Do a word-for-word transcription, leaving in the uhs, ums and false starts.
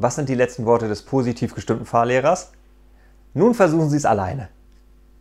Was sind die letzten Worte des positiv gestimmten Fahrlehrers? Nun versuchen Sie es alleine.